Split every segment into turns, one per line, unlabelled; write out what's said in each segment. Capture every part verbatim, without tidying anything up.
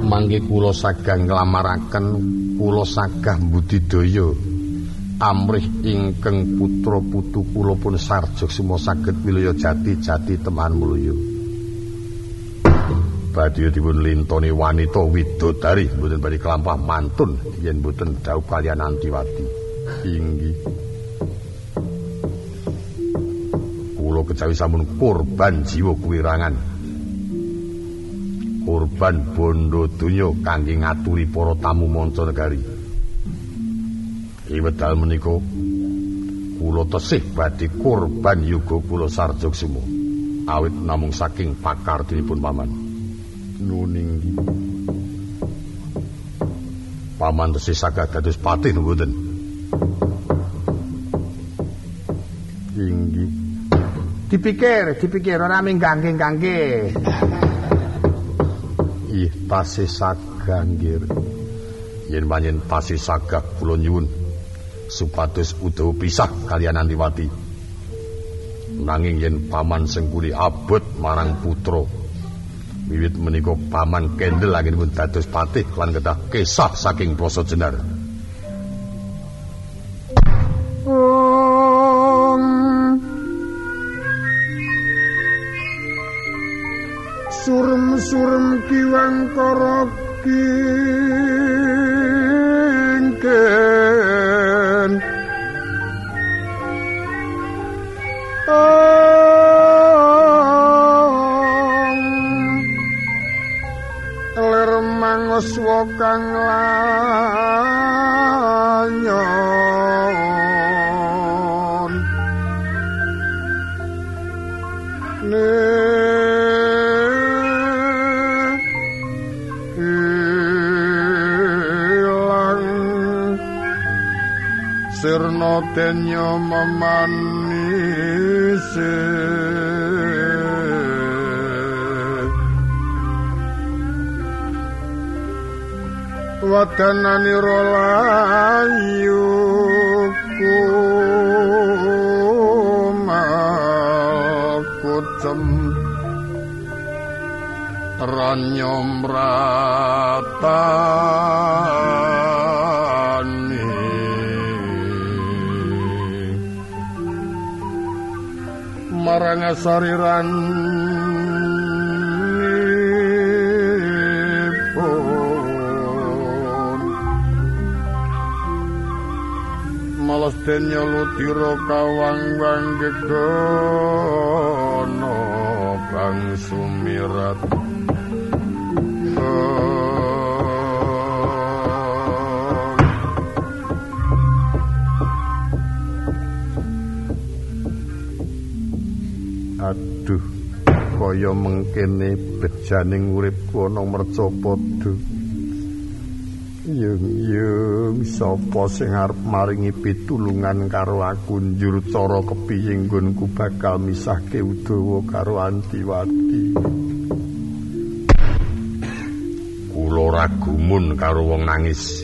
mangke kula sagah nglamaraken kula sagah budidaya amrih ingkang putra putu kula pun Sarjoksima saged wilaya jati-jati teman mulya. Badhe dipun lintoni wanita widodari mboten badhe kelampah mantun yen mboten dhaup kaliyan Antiwati. Inggih. Kula kejawi sampun korban jiwa kuwirangan. Korban bondo donya kangge ngaturi para tamu mancanegari. Ing wedal menika kula tesih badhe korban yuga kula Sarjoksima awit namung saking pakardinipun paman. Nuning paman tesih saged dados patih mboten? Inggih. Dipikir, dipikir ora minggangge-gangge. Ih, tasih sagah nggih. Yen panjen tasih sagah kula nyuwun supados Udawa pisah kaliyan Antiwati. Nanging yen paman sengkuli abot marang putra wiwit menika paman kendel anggenipun dados patih lan kedah kesah saking Plasa Jenar.
Surem-surem kiwang kara kingken ler mangos kang lanyon sirna tenya memanise wadananira layu kumal kucem ranyom ratani marang sariran malas denya lutira kawang-wang gegono bang sumirat
aduh kaya mengkene bejaning uripku ana mercapada. Yung-yung sapa sing arep maringi pitulungan karo aku njur cara kepiye nggonku bakal misahke Udawa karo Antiwati. Kula ragumun karo wong nangis.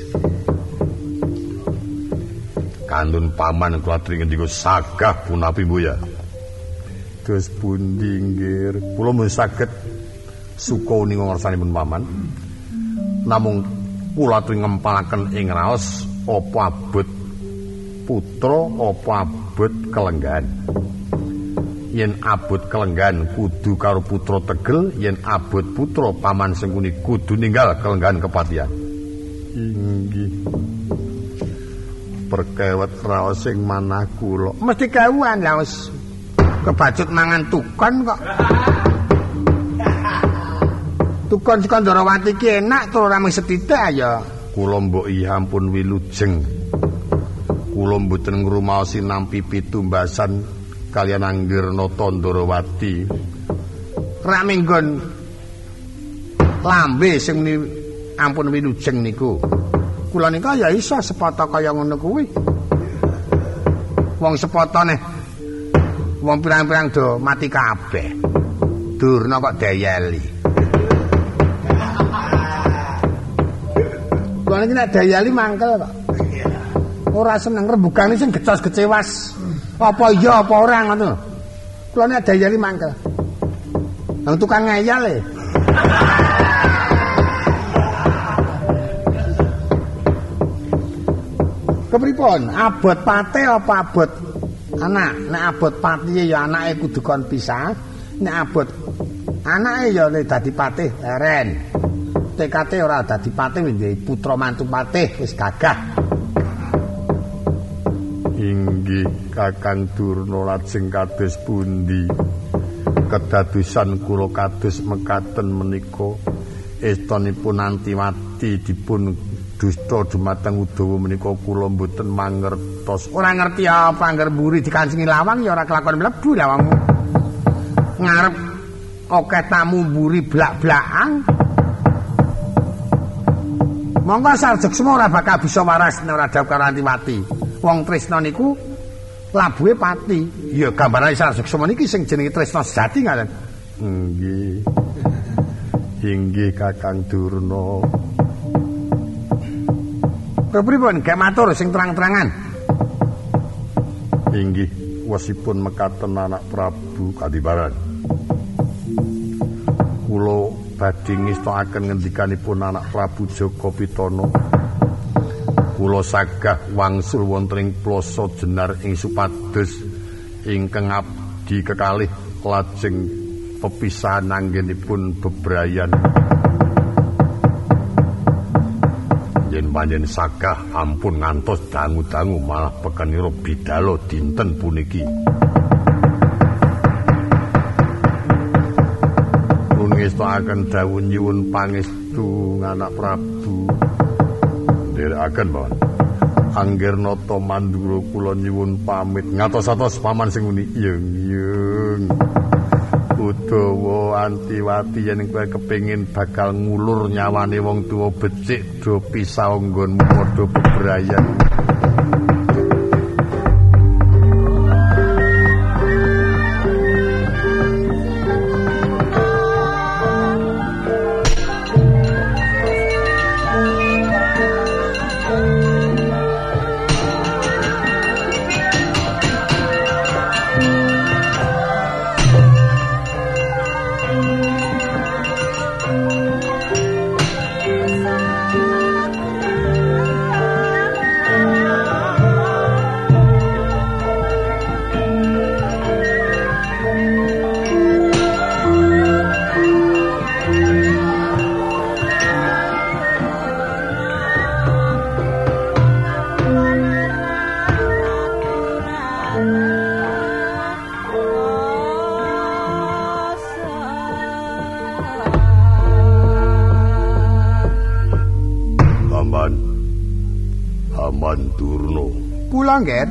Kandun paman kula aturi ngendika sagah punapi mboya. Dos pundi nggih kula mung saged suka ning ngarsanipun paman. Namung kula aturi ngempalaken ing raos apa abot putra apa abot kelenggan. Yen abot kelenggan kudu karo putra tegel, yen abot putra paman sengkuni kudu ninggal kelenggan kepatihan. Inggih. Perkewet raos sing manah kula. Mesti kawuhan lha wis kebacut mangan tukon kok. Tukon Sekandarawati ki enak tur ora mung sethithik ya. Kula mbok iya ampun wilujeng. Kula mboten ngrumaosi nampi pitumbasan kaliyan Anggirna Tandarawati. Rak minggon lambe sing ampun wilujeng niku. Kula nika ya iso sepata kaya ngono kuwi. Wong sepatane wong pirang-pirang do mati kabeh. Durna kok dayeli. Kula niki nek dayeli mangkel kok. Ora seneng rembugane sing gecos kecewas. Apa iya apa ora ngono. Kula nek dayeli mangkel. Nang tukang ngeyel e.
Pripun? Abot pate apa abot anak? Nek abot patihe ya anake kudu kon pisah. Nek abot anake ya dadi patih leren. Tekate ora dadi patih wis putra mantu patih wis gagah.
Inggih Kakang Durna lajeng kados pundi? Kedadosan kula kados mekaten menika estanipun Antiwati dipun dusta dumateng Udawa menika kula mboten mangertos.
Ora ngerti apa angger mburi dikancingi lawang ya ora kelakon mlebu lawang. Ngarep akeh tamu mburi blak-blakan. Monggo Sarjeksma ora bakal bisa waras nek ora dawuh karo Antiwati. Wong tresna niku labuhe pati. Ya gambarane Sarjeksma niki sing jenenge tresna sejati ngaten.
Nggih. Inggih Kakang Durna.
Kepripun gek matur sing terang-terangan?
Inggih wasipun mekaten anak Prabu Kadiparan. Kula badhe ngestakaken ngendikanipun anak Prabu Jaka Pitana. Kula sagah wangsul wonten ing plasa Jenar ing supados ingkang abdi kekalih lajeng pepisahan anggenipun bebrayan. Yen panjen sagah ampun ngantos dangu-dangu malah pekenira bidalo dinten puniki. Ngestakaken dawuh nyuwun pangestu anak Prabu. Nderekaken mawon. Anggernata Mandura kula nyuwun pamit ngatos-atos paman sing muni yung-yung. Udawa Antiwati yen kowe kepengin bakal ngulur nyawane wong tuwa becik do pisah nggonmu padha bebrayan.
Nger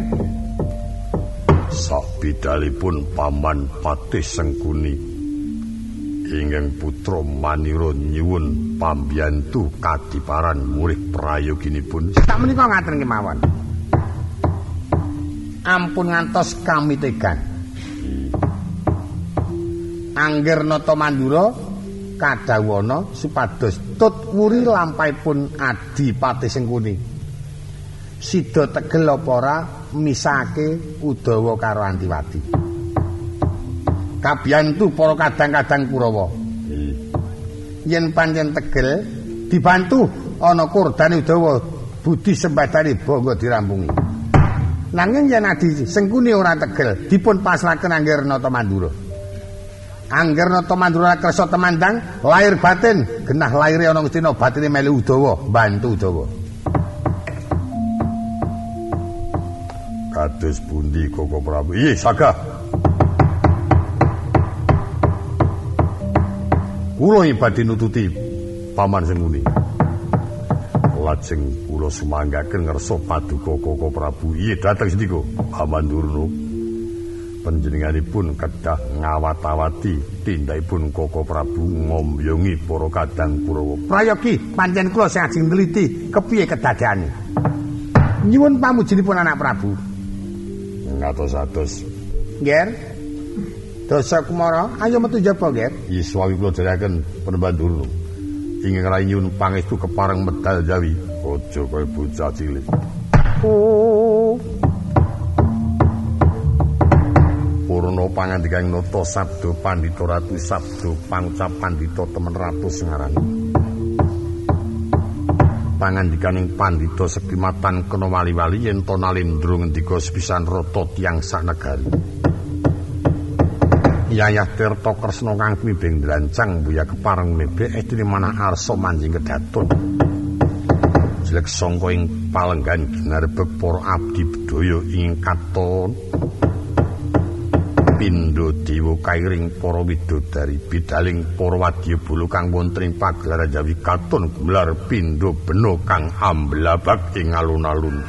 sak bidalipun Paman Patih Sengkuni ingkang putra Manira nyuwun pambiyantu Kadiparan murih prayoginipun.
Tak menika ngaten kemawon. Ampun ngantos kami tegan. Anggernata Mandura kadhawana supados tut wuri lampahipun Adi Patih Sengkuni. Sida tegel apa ora misake Udawa karo Antiwati. Kabiyantu para kadang-kadang Kurawa. Yen pancen tegel dibantu ana kurdane Udawa budi sembadane bangga dirampungi. Nanging yen Adi Sengkuni ora tegel dipun paslaken Anggernata Mandura. Anggernata Mandura kersa temandang lahir batin genah lahire ana Gustina batine melu Udawa bantu Udawa.
Kados pundi Koko Prabu? Iya, sagah. Kula badhe nututi Paman Sengkuni. Lajeng kula sumanggaken ngersa paduka Koko Prabu. Iya, dateng sendika Paman Durna. Panjenenganipun kedah ngawat-awati tindakipun Koko Prabu ngombyongi para kadang Kurawa.
Prayogi pancen kula sing ajeng neliti kepiye kedadiane. Nyuwun pamujinipun anak Prabu.
Ngatos-atos.
Nger. Dosa Kumara, ayo metu jaba, Nger.
Iswawi kula jaraken Panembahan Durna. Ingkang rai nyuwun pangestu kepareng medal Jawi. Aja kaya bocah cilik.
Oh.
Purna pangandikaning nata sabda Pandhita Ratu sabda pangucap Pandhita temen ratu sengarani. pangandikaning pandhita sekimatan kena wali-wali yen to Nalendra ngendika sepisan rata tiyang sanegari. Yayah Tirta Kresna kang kuwibeng drancang buya kepareng nebek edine manah arsa manjing kedaton. Jelek sangka ing palenggan ginarebeg para abdi bedaya ing katon pindha dewa kairing para widodari bidaling para wadya bulu kang wonten ing pagelaran Jawi katon gelar pindha bena kang amblabak ing alun-alun.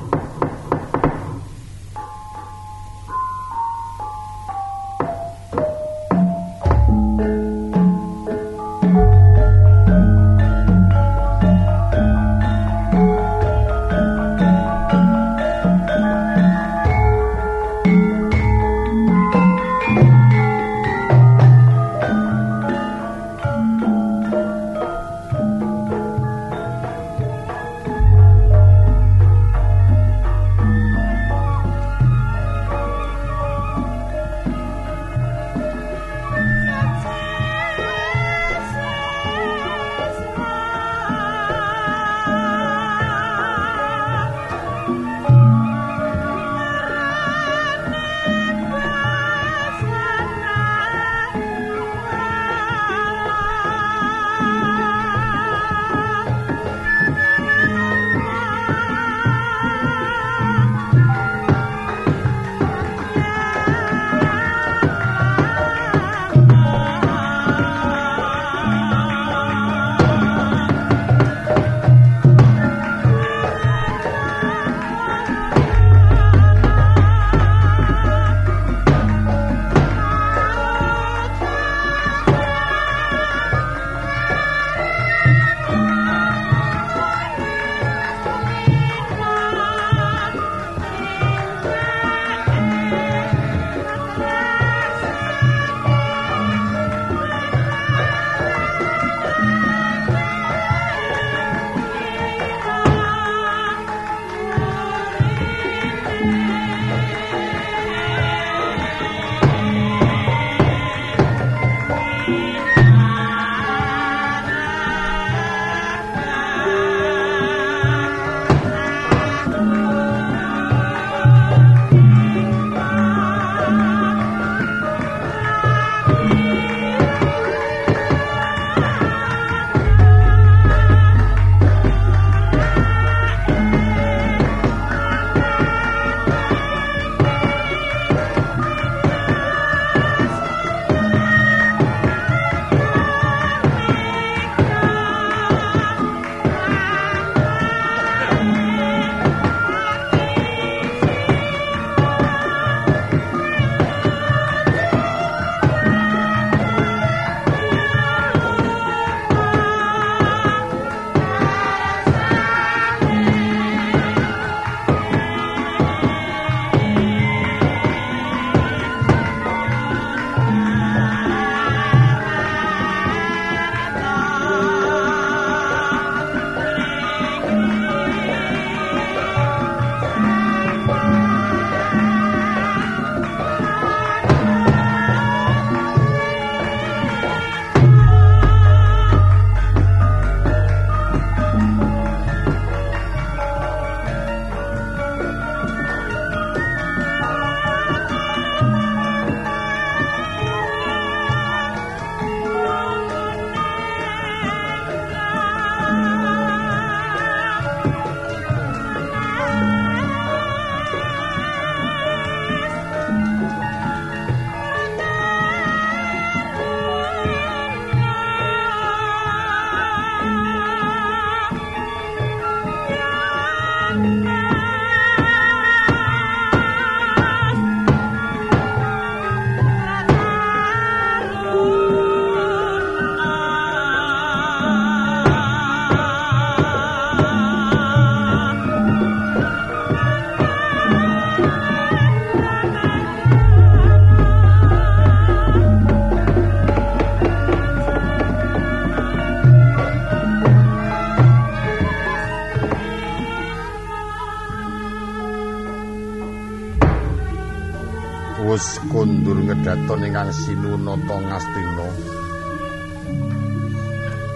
wus kondur ngedaton ingkang sinunata Ngastina.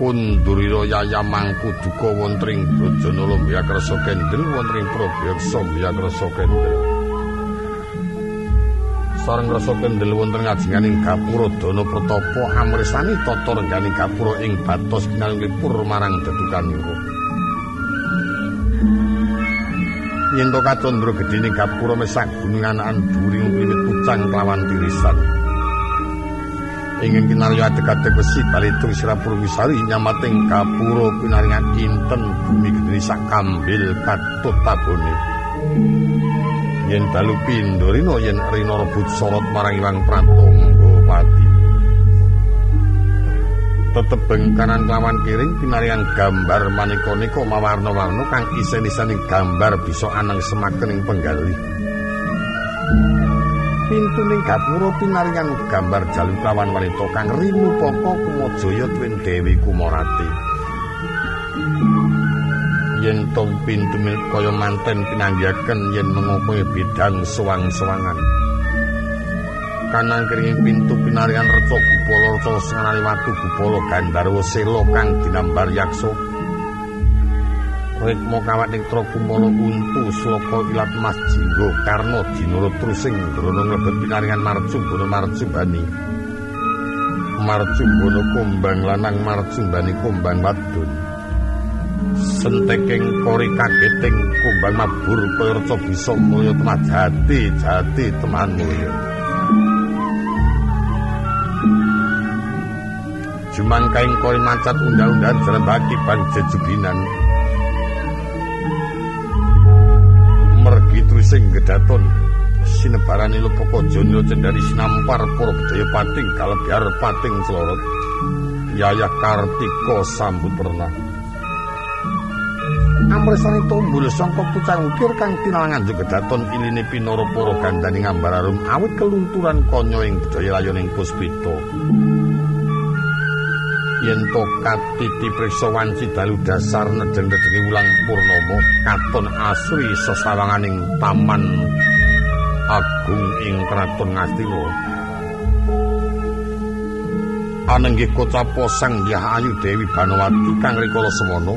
Kundurira yaya mangku duka wonten ing Brajanala Mbiyakrasa Kendel wonten ing Prabeksa Mbiyakrasa Kendel. Sareng rasa kendel wonten ngajenganing gapura dana pratapa amresani tata rengganing gapura ing batos kinalipur marang dedukanira. Yen to kacandra gedhening gapura mesak gunungan anduring wiwit pucang kelawan tirisan. Ingin kinarya adeg-adeg besi balitung sirapur wisari nyamating gapura pinaringan inten bumi gedhe sak kambil katut tabone. Yen dalu pindorina yen rina rebut sorot marang Iwang Pratonggapati. Tetebeng kanan lawan kiring pinarian gambar maneka-neka mawarna-warna kang isen-isening gambar bisa aneng semakening penggali. Pintuning gapura pinarian gambar jalukawan wanita kang rinupaka kumajaya tuwin Dewi Kumarati. Yen tong pintu mil kaya manten pinanggihaken yen mengokoe bidang sewang-sewangan. Kanang kiring pintu pinarian reca gupala reca sengali watu gupala Gandharwa Sela kang dinambar yaksa. Rikma kawaning tra kumala untu sloka ilat mas jingga karna dinara trusing grana nglebet pinarian marcumbana marcumbani. Marcumbana kumbang lanang marcumbani kumbang wadon. Senteking kori kageting kumbang mabur kaya reca bisa mulya temah jati jati teman mulya. Jumangkaing kori mancat undang-undangan jalan bagi ban jejubinan. Mergi trusing gedaton sinebarani lepaka jana cendari sinampar para bedaya pating kalebyar pating celorot. Yayah Kartika sambut pernah. Amresane tombul sangka pucang ukir kang tinalangan gedaton iline pinara para gandaning ambararum awit kelunturan kanya ing budaya layoning puspita. Yen to katiti priksa wanci dalu dasar nedeng-nedengi wulang purnama katon asri sesawanganing taman agung ing kraton Ngastina. Anenggih kocapa Sang Hyang Ayu Dewi Banawati kang rikala semana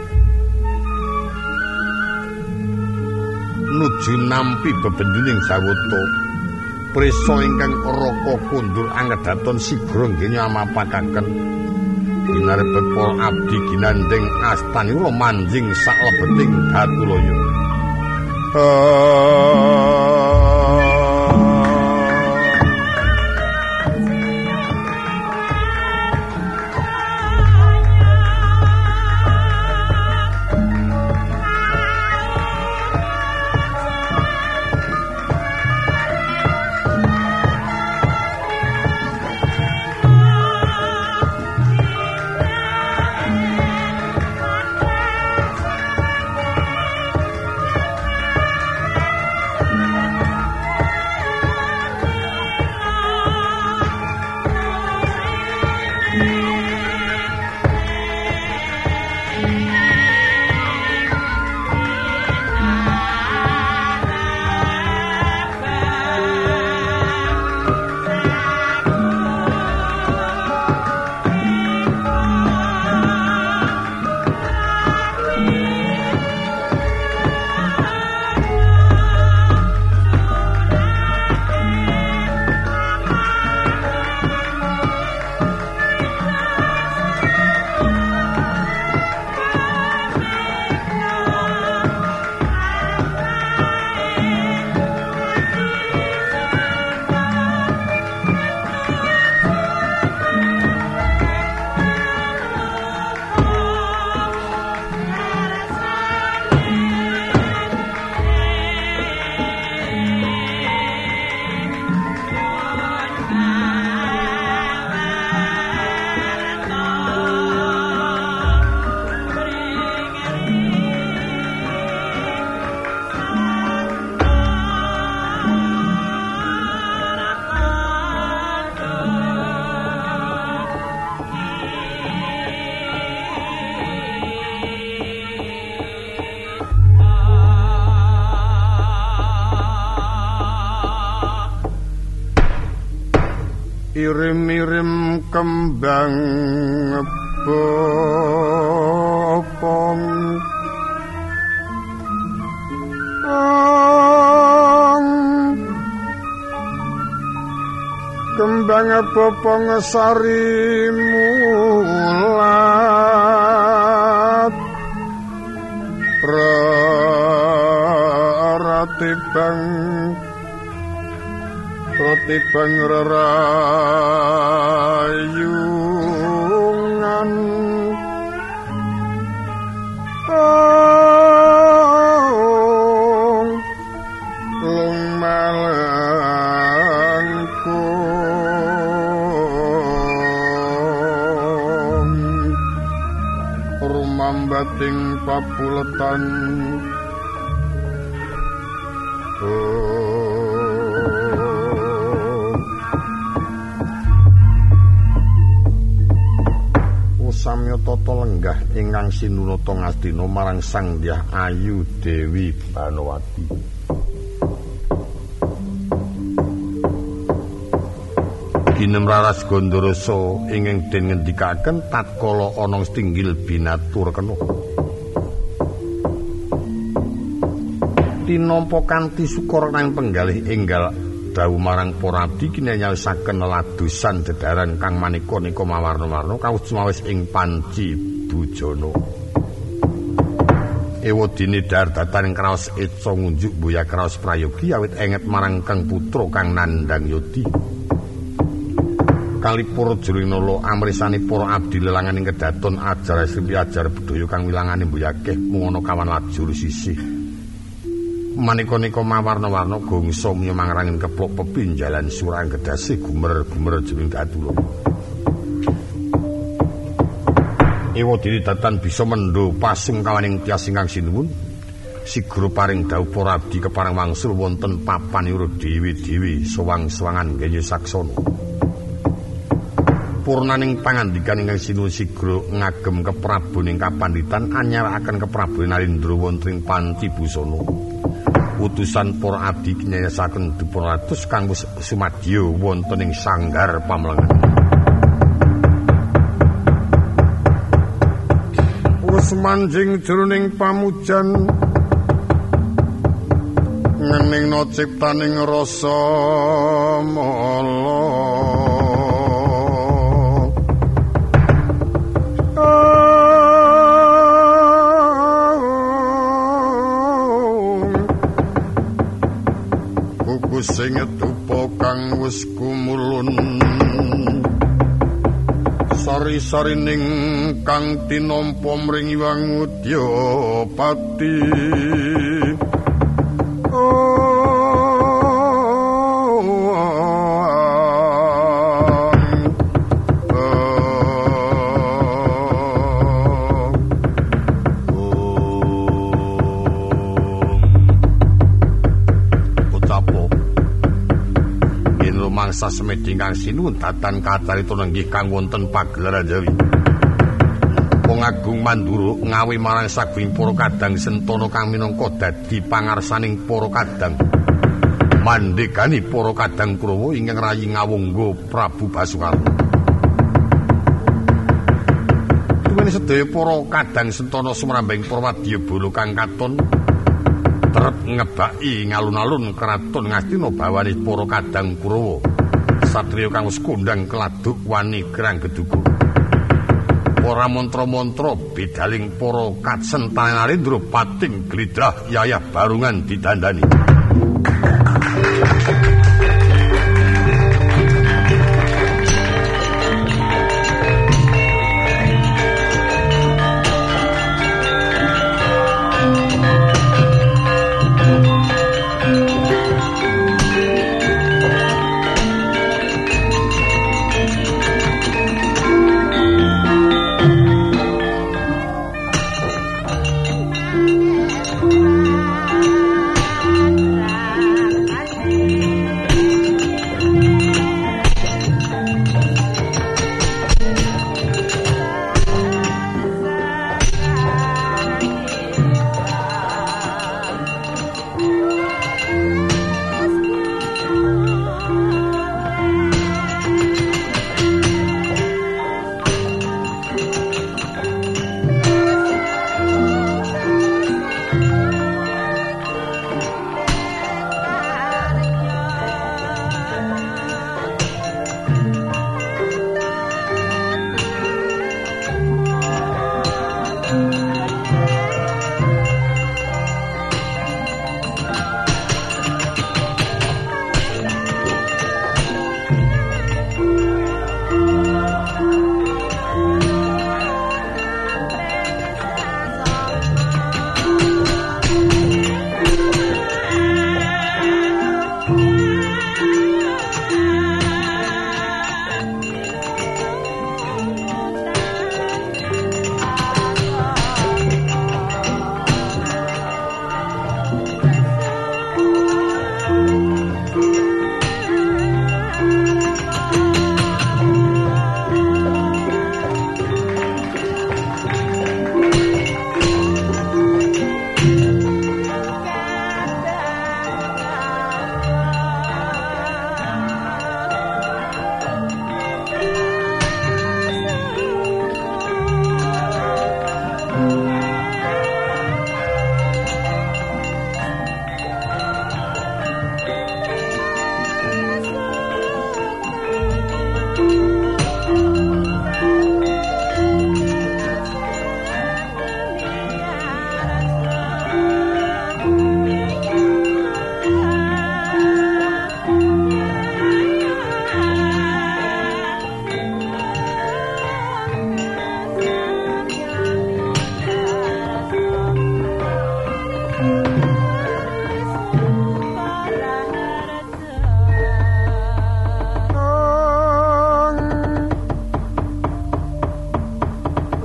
nuju nampi bebenduning sawata prisa ingkang raka kundur anggedaton sigra nggenya amapakaken ginarepet para abdi ginandeng astanira manjing saklebeting Datulaya.
Irim-irim kembang bopong kembang bopong sari mulat ratibang ratibang rerayungan oh lung malangku rumambating papuletan samya tata lenggah ingkang sinunata ngastina marang Sang Hyang Ayu Dewi Banowati. Ginem raras Gandharasa ingkang den ngendikaken tatkala ana stinggil binatur kena. Tinampa kanthi syukur nang penggalih enggal dawuh marang para abdi kinyawisaken leladosan dedaran kang manika-nika mawarna-warna kawis ing panci bujana. Ewadene dardatan kraos eca ngunjuk boya kraos prayogi awit enget marang kang putra kang nandhang yodi. Kalipur Jurinala amrisani para abdi lelangan ing kedaton ajar sripi ajar budaya kang wilangane mbuyakeh mung ana kawan lajur sisih. Manika-nika mawarna-warna gongso nyemangrangen keplok pepinjalan surang gedasih gumer-gumer jering datula. Ewadene datan bisa mendho pasungkawaning tiyas ingkang sinuwun sigra paring dawuh para abdi kepareng wangsul wonten papanira dewi-dewi sowang-sowangan nggih saksana. Purnaning pangandikan ingkang sinuwun sigra ngagem kepraboning kapanditan anyarakaken kepraboning Narendra wonten ing panci busana. Utusan para abdi kinyayasaken dipuratus kang wis sumadya wonten ing sanggar pamlengan. Wis manjing jroning pamujan ngeningna ciptaning rasa mala. Sing tupa kang wis kumulun sari-sarining kang tinampa mring Hyang Udyapati sasemeding kang sinuwun datan kacarita nenggih kang wonten pagelaran Jawi. Wong Agung Mandura ngawi marang saging para kadang sentana kang minangka dadi pangarsaning para kadang. Mandhegani para kadang Kurawa ingkang rayi ngawungga Prabu Basukarna. Tuwene sedaya para kadang sentana sumrambing para wadyabala kang katon terep ngebaki ngalun-alun kraton Ngastina bawane para kadang Kurawa. Satriya kang wis kondhang keladuk wani gerang geduga. Para mantra-mantra bedaling para kacentan Narendra pating glidrah yayah barungan didandani.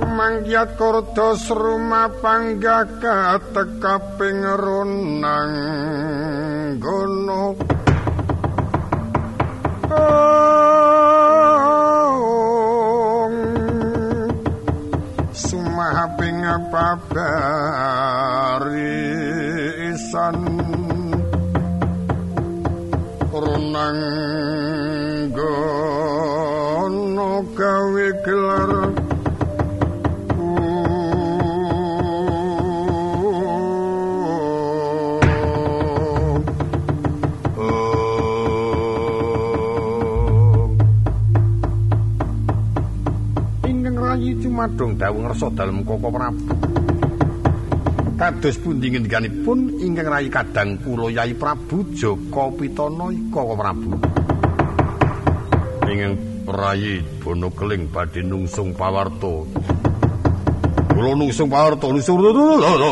Manggiat kurdos rumah panggaka tekaping runang gono sumahaping pabarisan runang gono gawe gelar
Madong dawuh ngersa dalem Koko Prabu. Kados pundi ngendikanipun ingkang rayi kadang kula Yai Prabu Jaka Pitana Koko Prabu. Ingkang rayi Bono Keling badhe nungsung pawarta. Kula nungsung pawarta nungsung lho.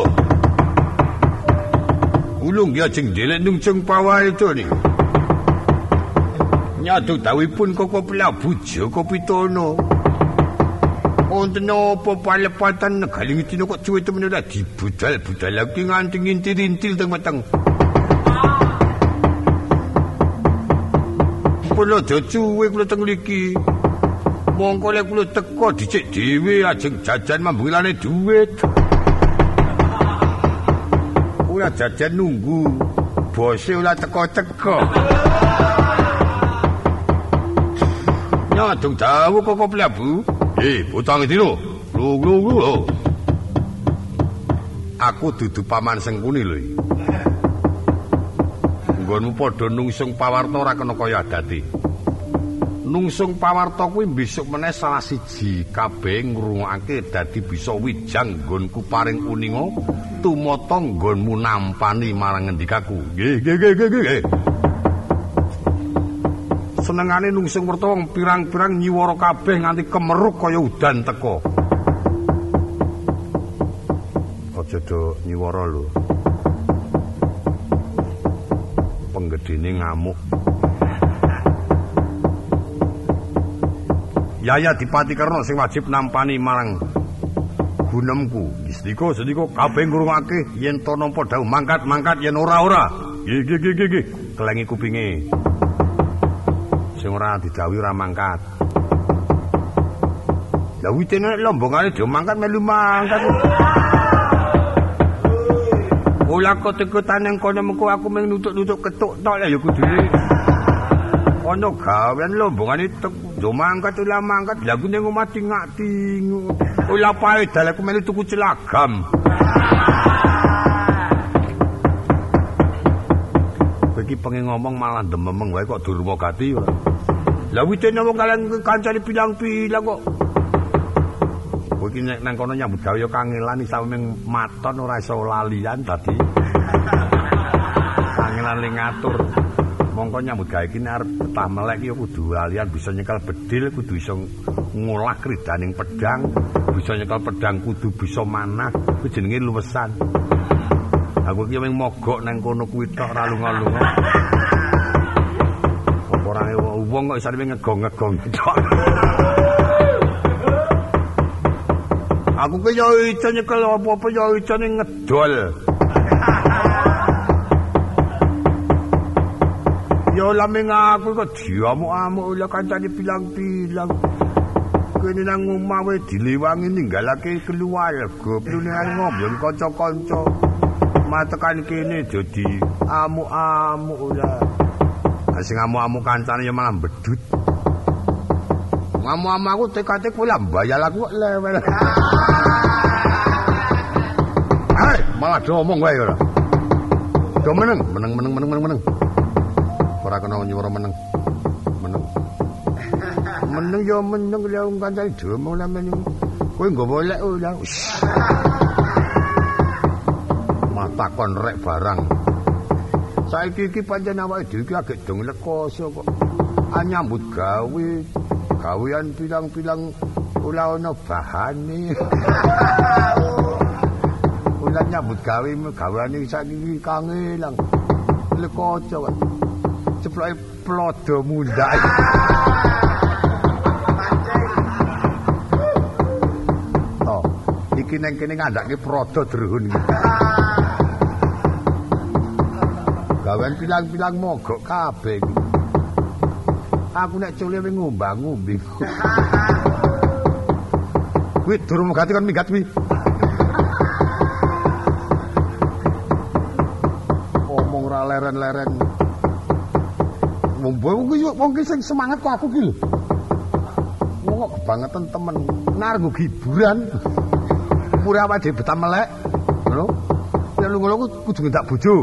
Ulung ya jeng delek nungsung pawarta ni. Nyadu dawuhipun Koko Prabu Jaka Pitana. Wonten apa palepatan negaling dina kok cuwe temen ora dibudal-budal lagi nganti ngintil-intil teng weteng. Kula aja cuwe kula teng mriki. Mongko lek kula teko dicek dhewe ajeng jajan mambulane dhuwit. Ora jajan nunggu bose ora teko-teko. Nyadung dawuh Koko Prabu. Eh, bocah ngedino. Lho, lho, lho. Aku dudu paman Sengkuni lho. Nggonmu padha nungsung pawarta ora kena kaya adate. Nungsung pawarta kuwi besok meneh salah siji kabeh ngrungokake dadi bisa wijang nggonku paring uninga tumata nggonmu nampani marang ngendikaku. Nggih, nggih, nggih, nggih. Senengane nungsung werta wong pirang-pirang nyiwara kabeh nganti kemeruk kaya udan teko. Aja do nyiwara lho. Penggedene ngamuk. Yaya Dipati Karna sing wajib nampani marang gunemku. Istiko sediko kabeh ngrungokake yen to nampa dawuh mangkat-mangkat yen ora-ora. Nggih nggih nggih nggih. Kelengi kupinge. Sing ora didhawuhi ora mangkat. Lah witene lombongane dhewe mangkat melu mangkat. Ola kotek-kotan nang kono mengko aku mung nutuk-nutuk ketuk tok ya kudune. Ana gawean lombongane do mangkat ola mangkat. Lah aku ning omah tingak-tingu. Ola pae dal aku melu tuku celagam. Iki pengen ngomong malah dememeng wae kok durmagati ora. Lah witene wong kalian kancane bilang-bilang kok. Kowe iki nek nang kono nyambut gawe ya kangelan isa mung maton ora iso lalian dadi. Kangelan ling ngatur. Mongko nyambut gawe iki arep betah melek ya kudu lalian bisa nyekel bedil, kudu iso ngolah kridaning pedang, bisa nyekel pedang kudu bisa manah, kuwi jenenge luwesan. Aku iki mung mogok nang kono kuwi tok ra lunga-lunga. Apa ora wong kok isane ngegong-ngegong tok. Aku ki yo iso nyekel apa-apa yo iso ngedol. Yo lameng aku kok diamuk-amuk lha kancane bilang-bilang. Kene nang omah wae dilewangi ninggalake keluarga, plune ngombe kanca-kanca. Matekan kene dadi amuk-amuk lah. Sing amuk-amuk kancane ya malah bedut. Amuk-amuk aku tekate kowe lah mbayal aku kok lewel. Hai, malah do omong wae ora. Do meneng, meneng meneng meneng meneng meneng. Ora kena nyuwara meneng. Meneng. Meneng ya meneng lha wong kancane dhewe lah meneng. Kowe nggawa lek ora. Takon rek barang. Saiki iki pancen awake dhewe iki agek dong lekoso kok. Anyambut gawe, gawean pilang-pilang ora ana bahane. Ora nyambut gawe gaweane saiki iki kangelang. Lekoso kok. Ceploke plodo mundak.
iki neng kene ngandhake Prada Drehun iki. Gawen pilang-pilang mogok kabeh iki. Aku nek cule wing ngombang-ngombe. Kuwi durung megati kon minggat kuwi. Omong ra leren-leren. Wong kuwi wong ki sing semangat kok aku ki lho. Wong kok kebangetan temen. Nar nggo hiburan. Mure awake dhewe betah melek. Ngono. Nek lunga ku kudu ngendak bojo.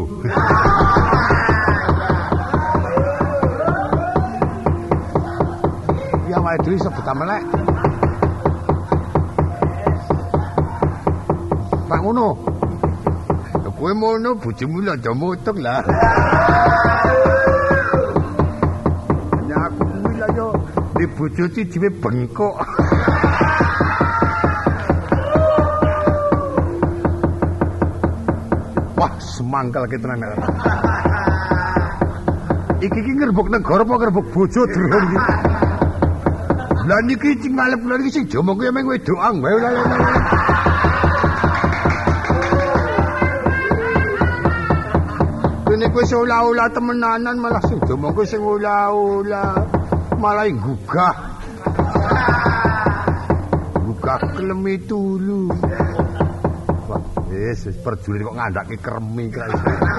Ya awake dhewe iso betah melek. Pak ngono. Kowe mono bojomu lho aja motok lah. Ya aku kuwi lah yo di bojo iki dhewe bengkok. Wah, semangkal ki tenan. Iki ki ngerbuk negara apa ngerbuk bojo Drehun iki? Lah niki sing ngalep lha iki sing jomong kuwi meng wedokan wae lha. Kene kowe ula-ula temenanan malah sing jomong kowe sing ula-ula malah gugah. Gugah klemi tulu. Wah, wis perjulit kok ngandhake kremi kae.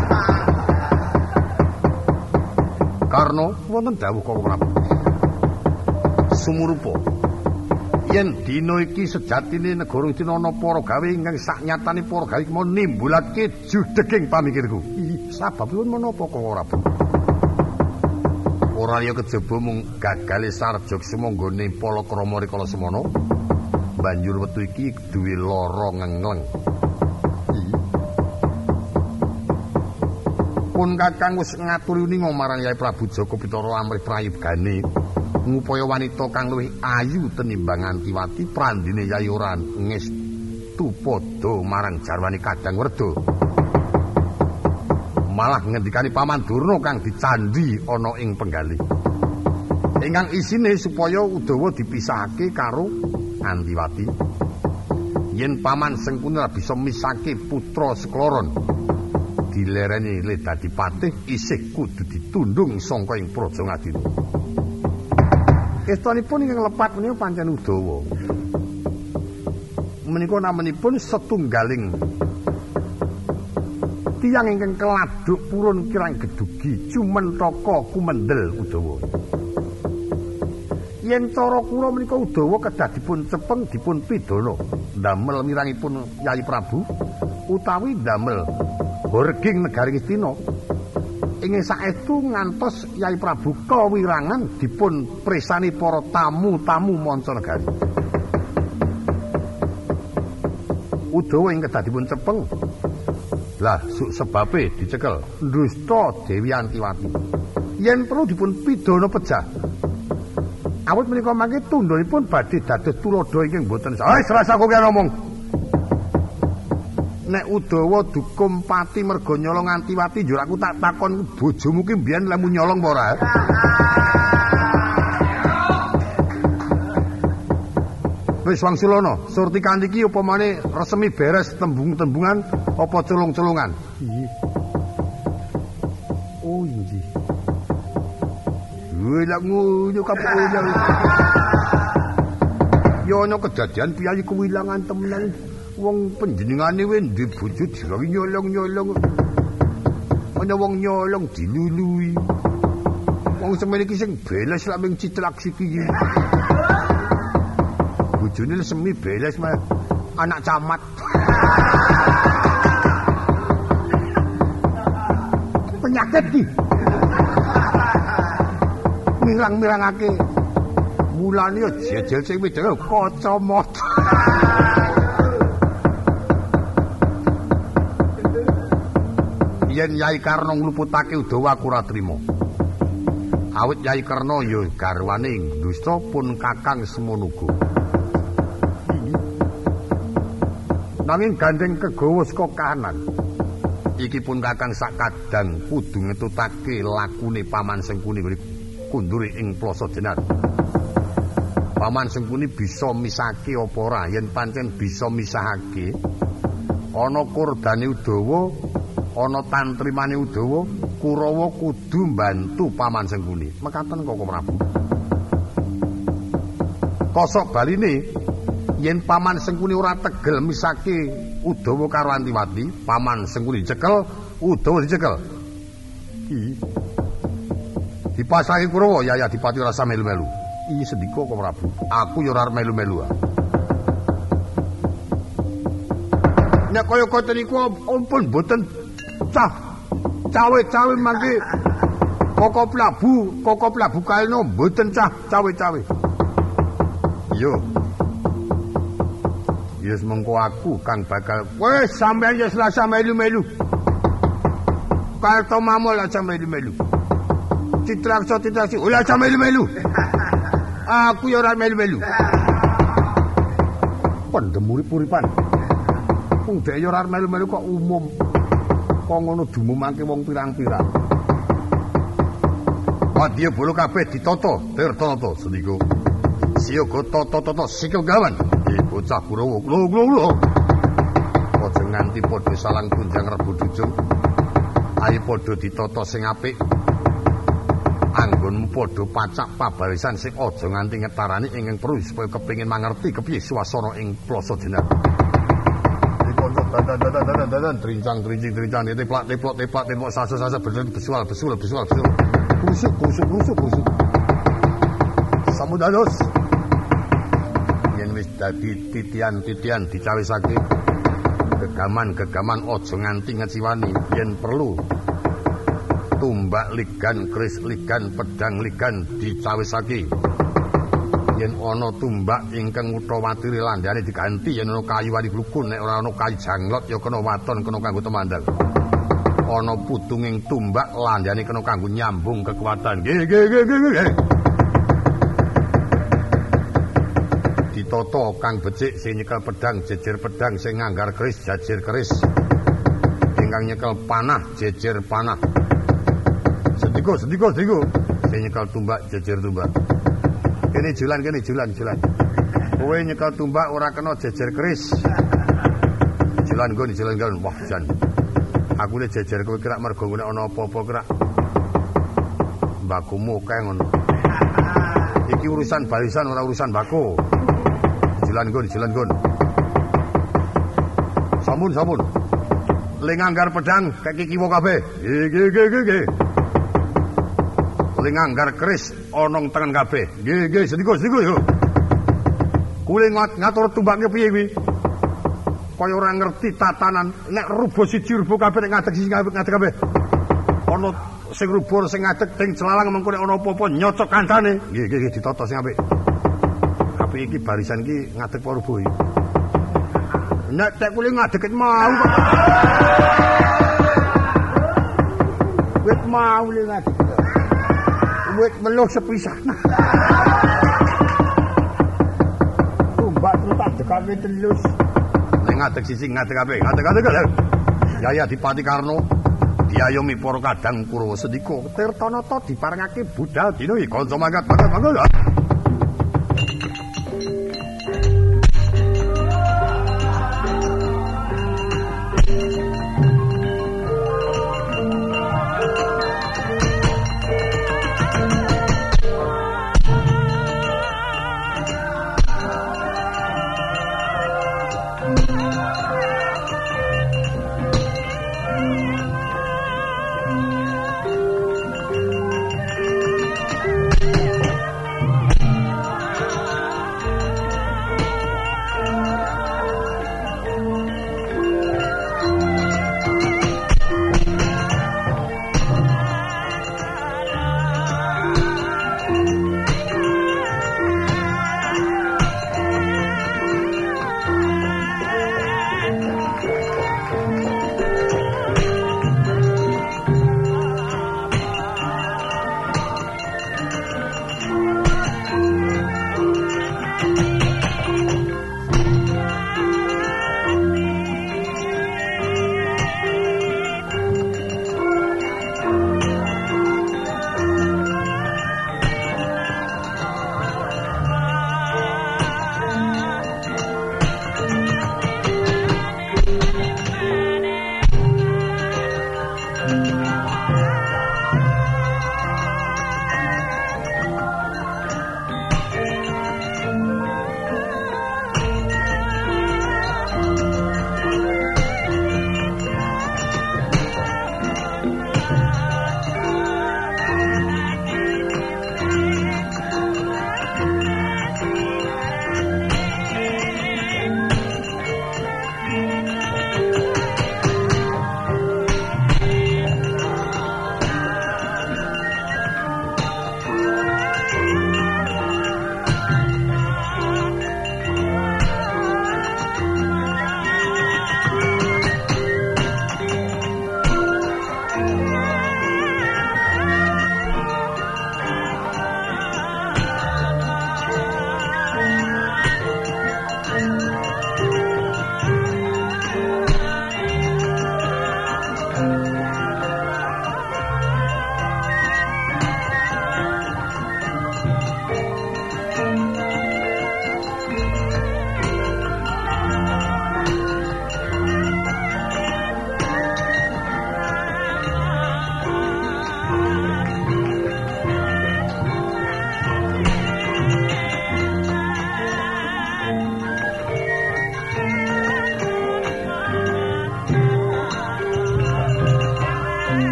Karno wonten dawuh Kala Prabu. Sumurupa yen dina iki sejatine negara iki ana para gawe ingkang saknyatane para gawe mau nimbulake judeging pamikirku. Sababipun menapa Kala Prabu? Ora liya kejaba mung gagale Sarjok semonggone Palakrama rikala semana. Banjur wektu iki duwe lara ngengleng. Pun Kakang wis ngaturi uninga marang Yai Prabu Jaka Pitara amrih prayogane ngupaya wanita kang luwih ayu tenimbang Antiwati prandine Yai ora ngestu padha marang jarwane Kadang Werda. Malah ngendikani Paman Durna kang dicandhi ana ing penggalih. Ingkang isine supaya Udawa dipisahake karo Antiwati. Yen Paman Sengkuni ora bisa misake putra sekloron, dilereni le dadi patih isih kudu ditundung sangka ing Praja Ngadina. Estanipun ingkang lepat menika pancen Udawa. Menika namanipun setunggaling tiyang ingkang keladuk purun kirang gedugi Cumentaka Kumendel Udawa. Yen cara kula menika Udawa kedah dipun cepeng dipun pidana ndamel mirangipun Yai Prabu utawi ndamel Horging negari Ngastina. Ing saestu ngantos Yai Prabu kawirangan dipun presani para tamu-tamu mancanegari. Udawa ing kedah dipun cepeng. Lah suk sebabe dicekel ndusta Dewi Antiwati. Yen perlu dipun pidana pejah. Awit menika mangke tundhonipun badhe dados tuladha ingkang boten sah. Wis rasa kowe ngomong. Nek Udawa dukum pati merga nyolong Antiwati njur aku tak takon bojomu ki mbiyen lemu nyolong apa ora? Wis wangsulana, surti kanthi iki upamane resmi beres tembung-tembungan apa culung-culungan? Nggih. Oh nggih. Wih lak ngono kapolnya. Yo ana kedadian piyayi kewilangan temenan. Wong panjenengane wis ndhe bojo digawe nyolong-nyolong. Ana wong nyolong dilului. Wong semene iki sing beles lak ming citlak siki. Bojone semi beles mah anak camat. Penyakit iki. Mirang-mirangake. Mulane yo jejel sing wedok kacamata. Yen Yai Karna ngluputake Udawa aku ora trima. Awit Yai Karna ya garwane dusta pun kakang semono uga. Nanging gandeng kegawa saka kahanan. Iki pun kakang sak kadang kudu ngetutake lakune Paman Sengkuni kundure ing Plasa Jenar.
Paman Sengkuni bisa misahake apa ora? Yen pancen bisa misahake, ana kordane Udawa, ana tantrimane Udawa, Kurawa kudu mbantu Paman Sengkuni. Mekaten Koko Prabu. Kosok baline yen Paman Sengkuni ora tegel misahake Udawa karo Antiwati, Paman Sengkuni dicekel, Udawa dicekel. Iki dipasrahi Kurawa, ya ya Dipati ora usah melu-melu. Iki sendika Koko Prabu. Aku ya ora melu-melu. Nek kaya koten niku ampun mboten cah cawe-cawe mangke Koko Prabu, Koko Prabu Kalina mboten cah cawe-cawe. Yo. Yes mengko aku kang bakal wis sampeyan ya selasa melu-melu. Karto mamol aja melu-melu. Citraksa Citraksi ora aja melu-melu. Aku ya ora melu-melu. Pendemuri-puripan. Wong dhek ya ora melu-melu kok umum. Kok ngono dumumake wong pirang-pirang. Wadya bolo kabeh ditata, tirta-tata sendika. Siyaga tata-tata sikil gawan. Iki bocah Kurawa. Lho lho lho. Aja nganti padha salang kunjang rebut ujung. Ayo padha ditata sing apik. Anggonmu padha pacak pabarisan sing aja nganti ngetarani ingkang perlu supaya kepengin mangerti kepiye swasana ing Plasa Jenar. Dadan trincang trincing trincang teplak teplok teplak teplok sasa-sasa besual besul besual besul kusuk kusuk kusuk kusuk samudados yen wis dadi titian-titian dicawisake gegaman-gegaman aja nganti ngeciwani yen perlu tumbak ligan keris ligan pedang ligan dicawisake yen ana tumbak ingkang utawatiri landhane diganti yen ana kayu wani glukun nek ora ana kayu janglot ya kena waton kena kanggo temandang ana putunging tumbak landhane kena kanggo nyambung kekuatan nggih nggih nggih nggih ditata kang becik sing nyekel pedang jejer pedang sing nganggar keris jajer keris ingkang nyekel panah jejer panah sendika sendika sendika sing nyekel tumbak jejer tumbak. Kene julan kene julan julan. Kowe nyekel tumbak ora kena jejer keris. Julan nggon julan nggon wah jan. Aku le jejer kowe kira mergo nek ana apa-apa kira. Mbakumu kae ngono. Iki urusan barisan ora urusan mbako. Julan nggon julan nggon. Sampun sampun. Ling anggar pedang kaki kiwa kabeh. Nggih nggih nggih nggih. Ling anggar keris onong tengen kabeh. Nggih nggih sedika sedika yo. Kule ngatur tumbake piye kuwi? Kaya ora ngerti tatanan nek rubo siji rubo kabeh nek ngadeg siji ngadeg kabeh. Ana sing rubo sing ngadeg ting celalang mengko nek ana apa-apa nyocok kancane. Nggih nggih ditata sing apik. Apik iki barisan iki ngadeg apa rubo iki? Nek tek kule ngadeg mau kok. Wit mau le ngadeg. Wit meluh sepisan. Tumbak tak dekake telus. Nek ngadeg sisi ngadeg kabeh, ngadeg-ngadeg lho. Yaya Dipati Karna diayomi para kadang Kurawa sendika tirtanata diparengake budal dina iki kanca mangkat mangkat.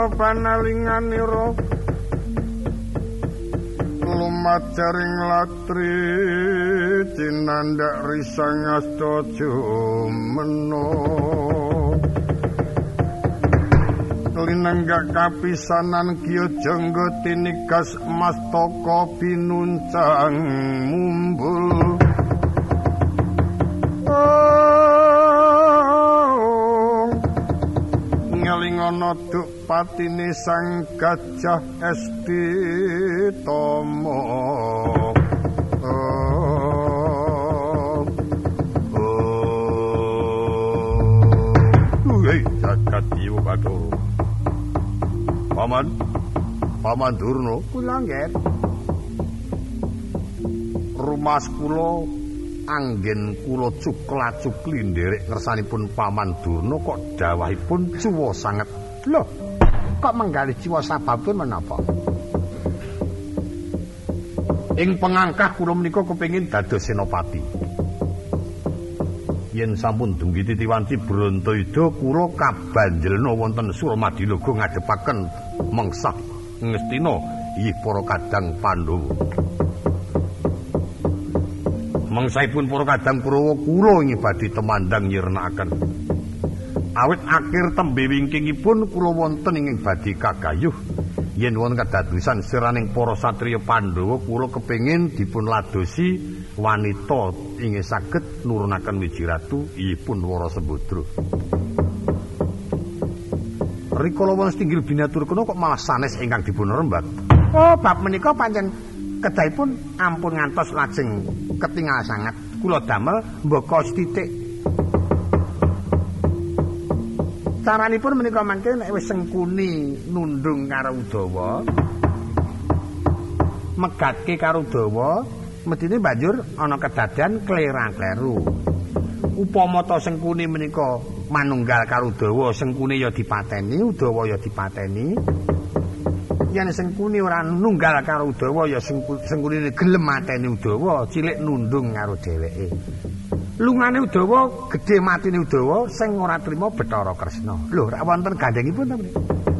panalinganira lumajaring latri cinandak risang asta jumena linenggak kapisanan kiyo jenggo tinikas mastaka pinuncang mumbul ngelingono duk patine sang gajah esti tomo hei jagat iwo Bathara Paman, Paman Durna, kula nggih. Rumas kula anggen kula cukla-cukli nderek ngersanipun Paman Durna kok dawahipun cuwa sanget. Lho, kok menggali jiwa sababipun menapa? Ing pengangkah kula menika kepengin dados senopati. Yen sampun dumugi Titiwanti Brantayuda kula kabanjelna wonten Suramadiloga ngadepaken mengsah Ngastina inggih para kadang Pandhawa. Mengsahipun para kadang Kurawa kula inggih badhe temandang nyirnakaken. Awit akhir tembe wingkingipun kula wonten ing badhe kagayuh yen wonten kadadosan siraning para satriya Pandhawa kula kepengin dipun ladosi wanita inggih saged nurunaken wiji ratu inggihipun Wara Sembadra. Rikala wonten tinggil binatur kono kok malah sanes ingkang dipun rembat. Oh, bab menika pancen kedahipun ampun ngantos lajeng ketingal sanget. Kula damel mbaka sithik. Caranipun menika mangke nek wis Sengkuni nundung karo Udawa, megatke karo Udawa, medine banjur ana kedadean klera-kleru. Upama ta Sengkuni menika manunggal karo Udawa, Sengkuni ya dipateni, Udawa ya dipateni. Yen Sengkuni ora nunggal karo Udawa ya Sengkuni gelem mateni Udawa, cilik nundung karo dheweke. Lungane Udawa, gedhe matine Udawa sing ora trima Bathara Kresna. Lho, rak wonten gandhengipun ta menika?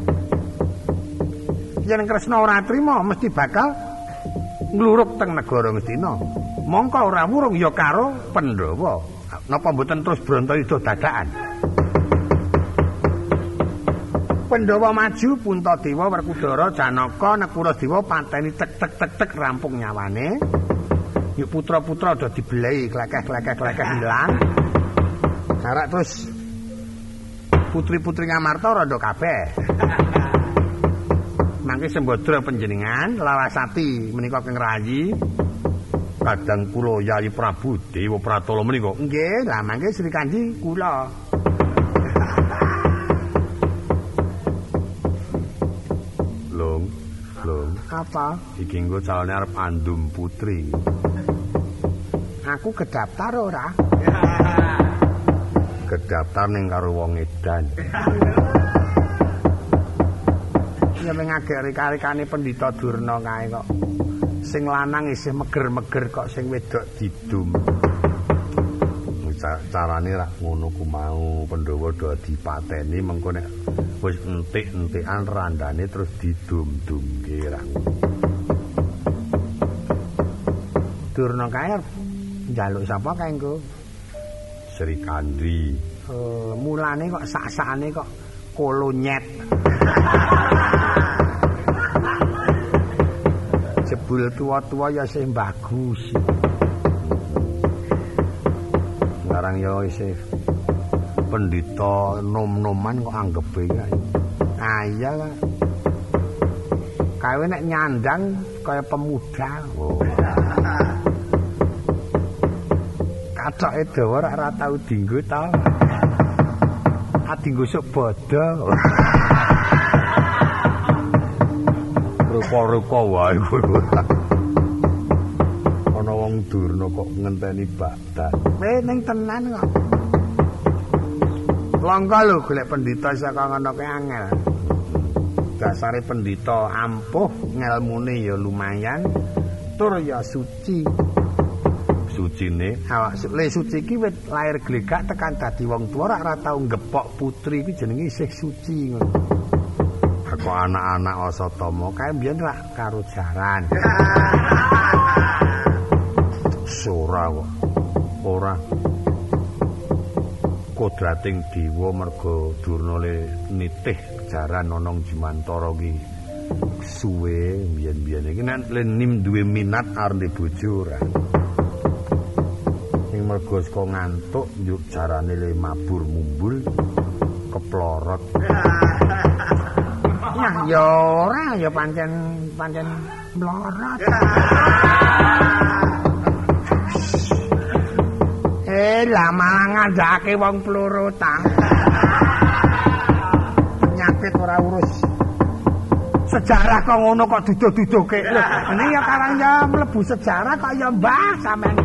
Yen Kresna ora trima mesti bakal ngluruk teng negara Ngastina. Mongko ora wurung ya karo Pandhawa. Napa mboten terus Brantayuda dadakan? Pandhawa maju, Puntadewa, Werkudara, Janaka, Nekuradewa pateni tek tek tek tek rampung nyawane. Yuk putra-putra udah dibelai klekeh-klekeh-klekeh hilang. Karak terus putri-putri Ngamarta rada kabeh. Mangke Sembadra panjenengan Larasati menika keng rayi kadang kula Yayi Prabu Dewa Pratala menika. Nggih, lah mangke Sri Kandi kula. Lung, lung. Apa? Iki nggo calone arep andum putri. Aku kedaftar ora? Kedaftar ning karo wong edan. Ya mengagek reka-rekane Pendhita Durna kae kok. Sing lanang isih meger-meger kok sing wedok didum. Carane rak ngono ku mau Pandhawa do dipateni mengko nek wis entik-entikan randane terus didum-dumke rak. Durna kae njaluk sapa kae engko? Sri Kandi. Oh, mulane kok sak-sakane kok kolonyet. Jebul tua-tua ya sih bagus. Sekarang ya isih pendhita nom-noman kok anggepe kae. Ah iya lah. Kae nek nyandang kaya pemuda. Oh. Katoke dawa ora tau dienggo ta. Adinggo sok bodho. Rupa-rupa wae kowe. Ana wong Durna kok ngenteni Baghdad. Eh ning tenan kok. Langka lho golek pendhita saka ngono kae angel. Dasare pendhita ampuh, ngelmune ya lumayan, tur ya suci. Sucine awak le suci iki wit lair glegak tekan dadi wong tuwa ora tau ngepok putri iki jenenge isih suci ngono. Kok anak-anak Asatama kae mbiyen rak karo jaran. Ora kok. Ora. Kodrating dewa merga Durna le nitih jaran ana Jimantara ki suwe mbiyen-mbiyen iki nek Lenim duwe minat arep bojo ora. Sing merga saka ngantuk njuk jarane le mabur mumbul keplorot. Nah, ya ora ya pancen pancen mlorot. Eh, lah malah ngandhake wong plorotan. Penyakit ora urus. Sejarah kok ngono kok duduh-duduhke. Lho, ini ya karang ya mlebu sejarah kok ya mbah sampean.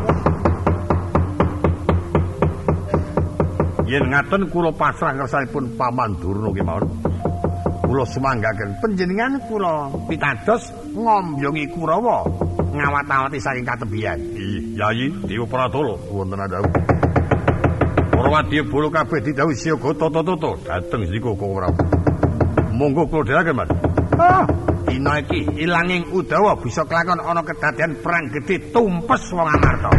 Yen ngaten kula pasrah ngersanipun Paman Durna kemawon. Kula sumanggaken panjenengan kula pitados ngombyongi Kurawa ngawat-awati saking katebian. Yayi Dewa Pratala wonten adawuh. Para wadya bolo kabeh didhawuhi siaga tata-tata dhateng sika Kurawa. Monggo kula dherekaken, Mas.
Oh,
dina iki ilanging Udawa bisa kelakon ana kedadian perang gedhe tumpes wong Amarta.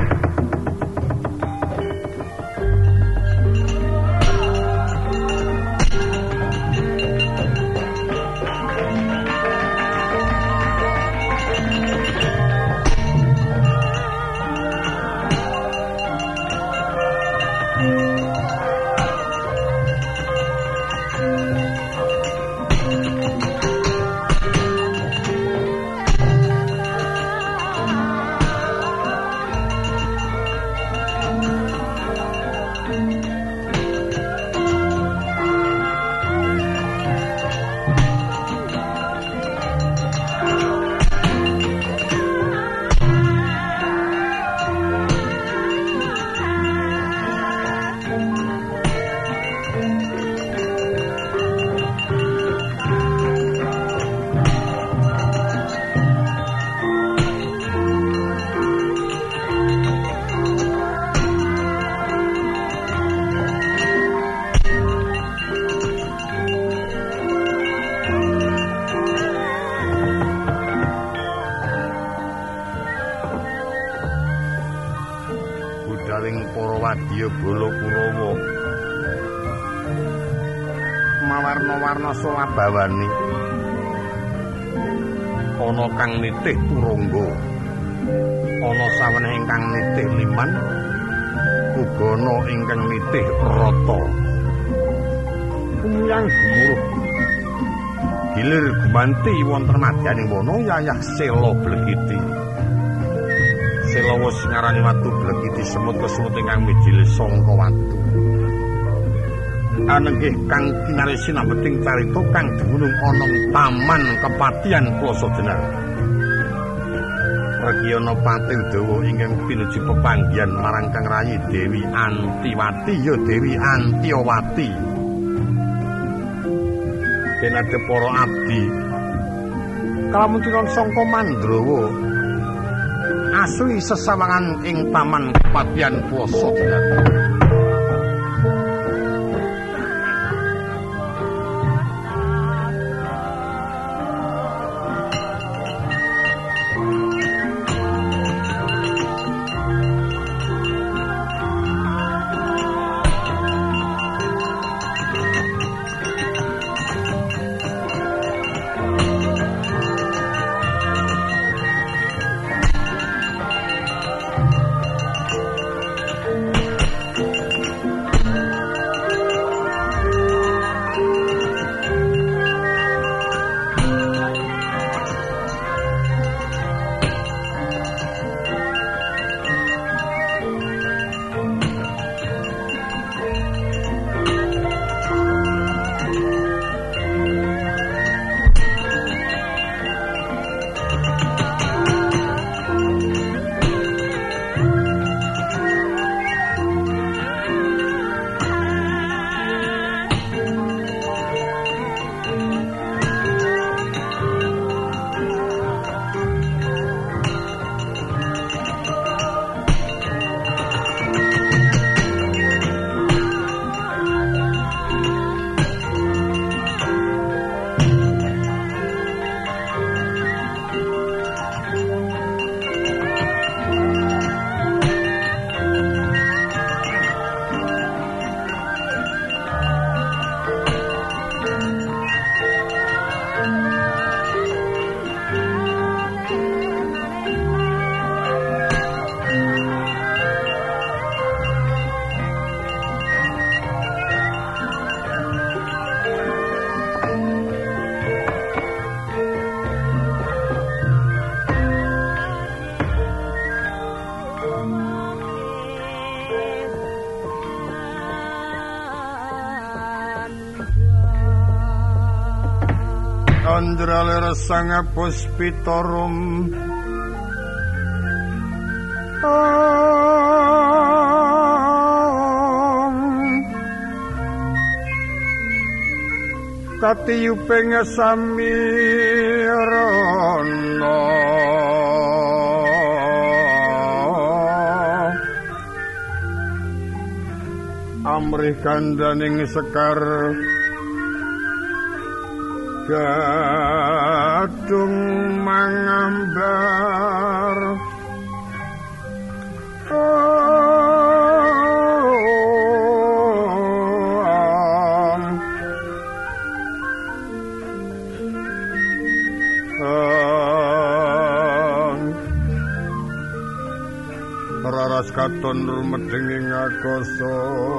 Mawarna-warna solabawani ana kang nitih turangga, ana saweneh ingkang nitih liman, uga ana ingkang nitih rata. Kumyang gumuruh gilir gumanti wonten madyaning wana yayah sela blegiti. Sela wis ngarani watu blegiti semut kesumut ingkang mijil sangka watu. Anenggih kang kinaresi nambeting carita kang dumunung ana Taman Kepatihan Plasa Jenar. Regiyana Pati Udawa ingkang pinuju pepanggihan marang Kang Rayi Dewi Antiwati ya Dewi Antiowati. Denade para abdi kalamuntiran sangka Mandrawa asli sesawangan ing Taman Kepatihan Plasa Jenar. Indralir sang puspitorum Om Katiyuping samirana Amrih kandaning sekar gadung mangambar Om Om Raras katon rumeding ing akasa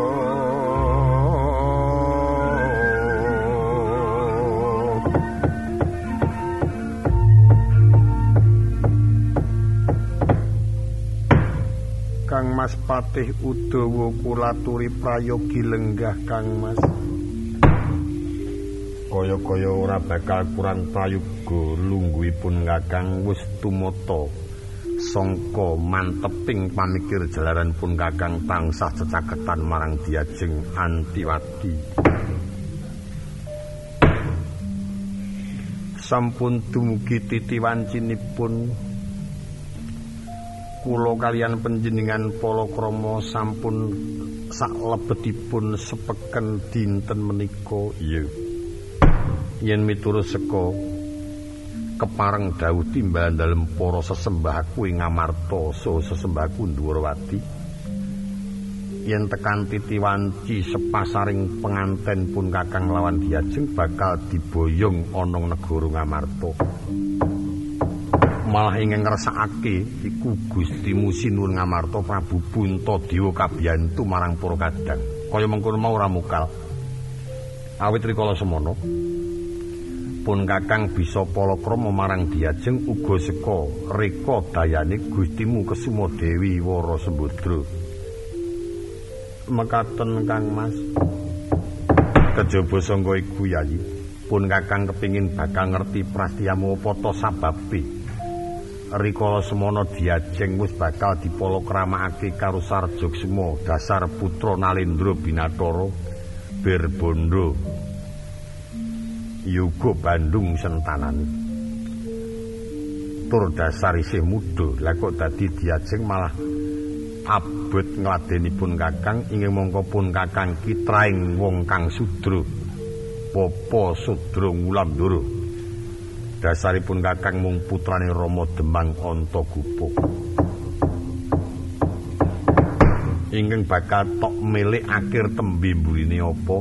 Kang Mas Patih Udawa kulaturi prayogi lenggah Kang Mas. Kaya-kaya ora bakal kurang prayoga lungguhipun Kakang wis tumata sangka manteping pamikir jalaran pun Kakang tansah cecaketan marang Diajeng Antiwati. Sampun dumugi titiwancinipun kula kaliyan panjenengan palakrama sampun saklebetipun sepeken dinten menika iya yen miturut seka kepareng dawuh timbalan dalem para sesembahku ing Ngamarta saha sesembahku Ndwarawati yen tekan titiwanci sepasaring penganten pun Kakang lawan Diajeng bakal diboyong ana negara Ngamarta malah ingkang ngrasakake iku Gustimu Sinuwun Ngamarta Prabu Puntadewa kabiyantu marang para kadang kaya mengkono mau ora mukal awit rikala semana pun Kakang bisa palakrama marang Diajeng uga seka reka dayane Gustimu Kesumadewi Wara Sembadra mekaten Kang Mas kejaba sangka iku Yayi pun Kakang kepingin bakal ngerti prastiyamu apa ta sababe rikala semana Diajeng wis bakal dipalakramakake karo Sarjogsma dasar putra Nalendra Binathara Birbondo Yuga Bandung sentanane tur dasar isih muda lha kok dadi Diajeng malah abot ngladenipun Kakang inggih mongko pun Kakang kitraing wong kang sudra Bapa Sudra Wulandara dasaripun Kakang mung putrane Rama Demang Antagopa ingkang bakal tok milik akhir tembe mburine apa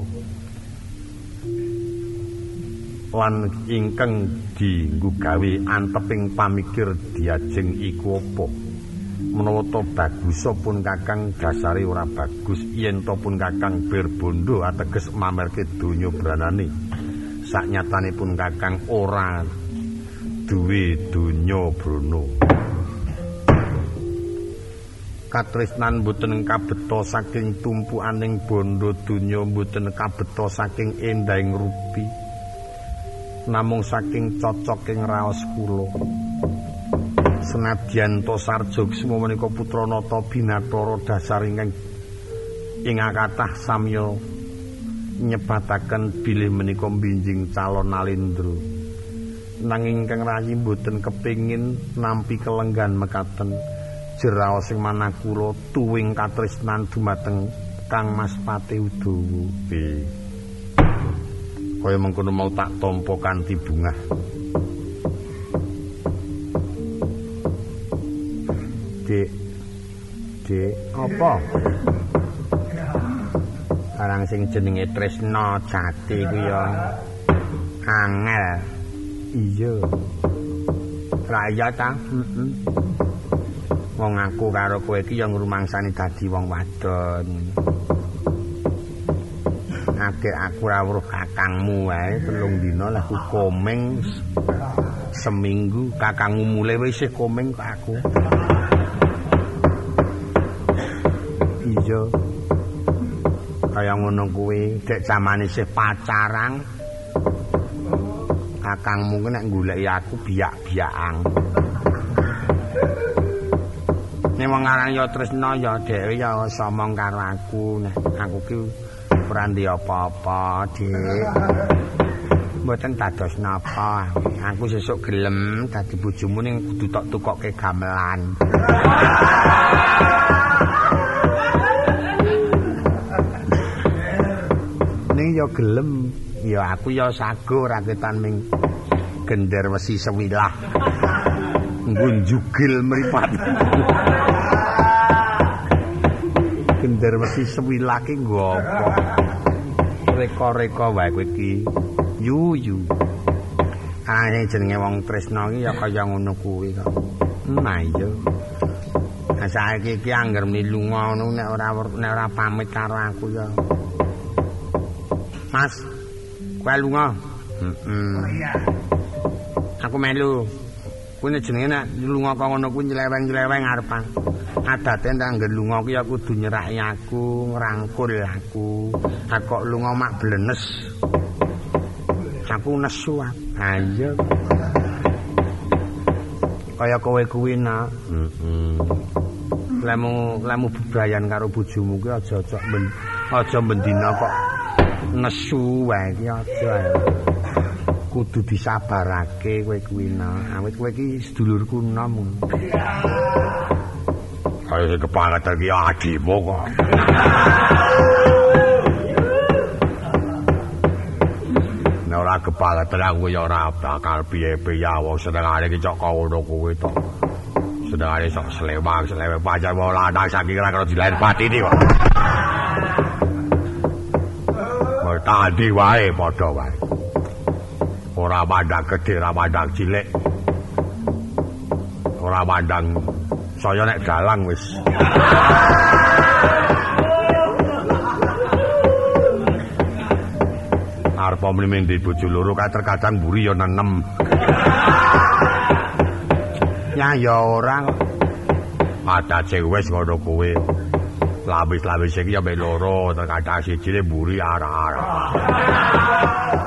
lan ingkang dienggo gawe anteping pamikir Diajeng iku apa menawa to bagus pun Kakang dasare ora bagus yen to pun Kakang Birbondo ateges mamerke donya branane saknyatanipun Kakang ora duwe donya brana katresnan mboten kabeta saking tumpukaning bondo donya mboten kabeta saking endahing rupi namung saking cocoking raos kula senadyan to Sarjogsma menika putra Nata Binathara dasar ingkang ing kathah samya nyebataken bilih menika binjing calon Nalendra nanging Kang Rayi mboten kepingin nampi kelenggan mekaten jeraos sing manah kula tuwing katresnan dumateng Kang Mas Patih Udawa nggih kaya mengkono mau tak tampa kanthi bungah Dik Dik apa barang sing jenenge tresna jati kuwi ya angel iya raya ta heeh wong aku karo kowe iki ya ngrumangsani dadi wong wadon akeh aku ora weruh kakangmu wae telung dina lah aku komeng seminggu kakangmu mulai wis komeng kok aku iya kaya ngono kuwi dek zamane isih pacaran
kakangmu ku nek goleki aku biak-biakan. Nek wong aran ya tresna ya dhewe ya somong karo aku nek aku ki ora ndi apa-apa, Dik. Mboten dados napa. Aku sesuk gelem dadi bojomu ning kudu tok tukokke gamelan. Ning ya gelem, ya aku ya sago raketan ming gender wesi sewilah. Nggo njugil mripat. Gender wesi sewilah ki nggo apa? Reka-reka wae kowe iki. Yu-yu. Ah jenenge wong tresna iki ya kaya ngono kuwi kok. Nah iya. Nah saiki iki angger milunga ngono nek ora nek ora pamit karo aku ya. Mas, kowe lunga? Heeh. Oh iya. Aku melu. Kuwi jenenge nek lunga kok ngono kuwi nyeleweng-nyeleweng arepan. Adate nek angger lunga kuwi ya kudu nyeraki aku, ngrangkul aku. Aku kok lunga mak blenes. Aku nesu. Ha iya. Kaya kowe kuwi nak. Heeh. Lemu lemu bebrayan karo bojomu kuwi aja-aja ben aja bendina kok nesu wae iki aja. Kudu disabarake kowe kuwi nak. Awit kowe iki sedulurku nom. Kaya kepala iki adimu kok. Ora kepala terang kuwi ora bakal piye-piye wong senengane iki cok ngono kuwi to. Senengane sok slewang, slewe pancen wong lanang saking ora karo dilair patine kok. Mau tadi wae padha wae. Ora mandang gedhe, ora mandang cilik. Ora mandang saya nek dalang wis. Arep mrene ndi bojo loro kae terkadang mburi ya nenem. Ya ya ora kok. Adace wis ngono kowe. Lawis-lawis iki ya mek loro terkadang siji mburi arah-arah.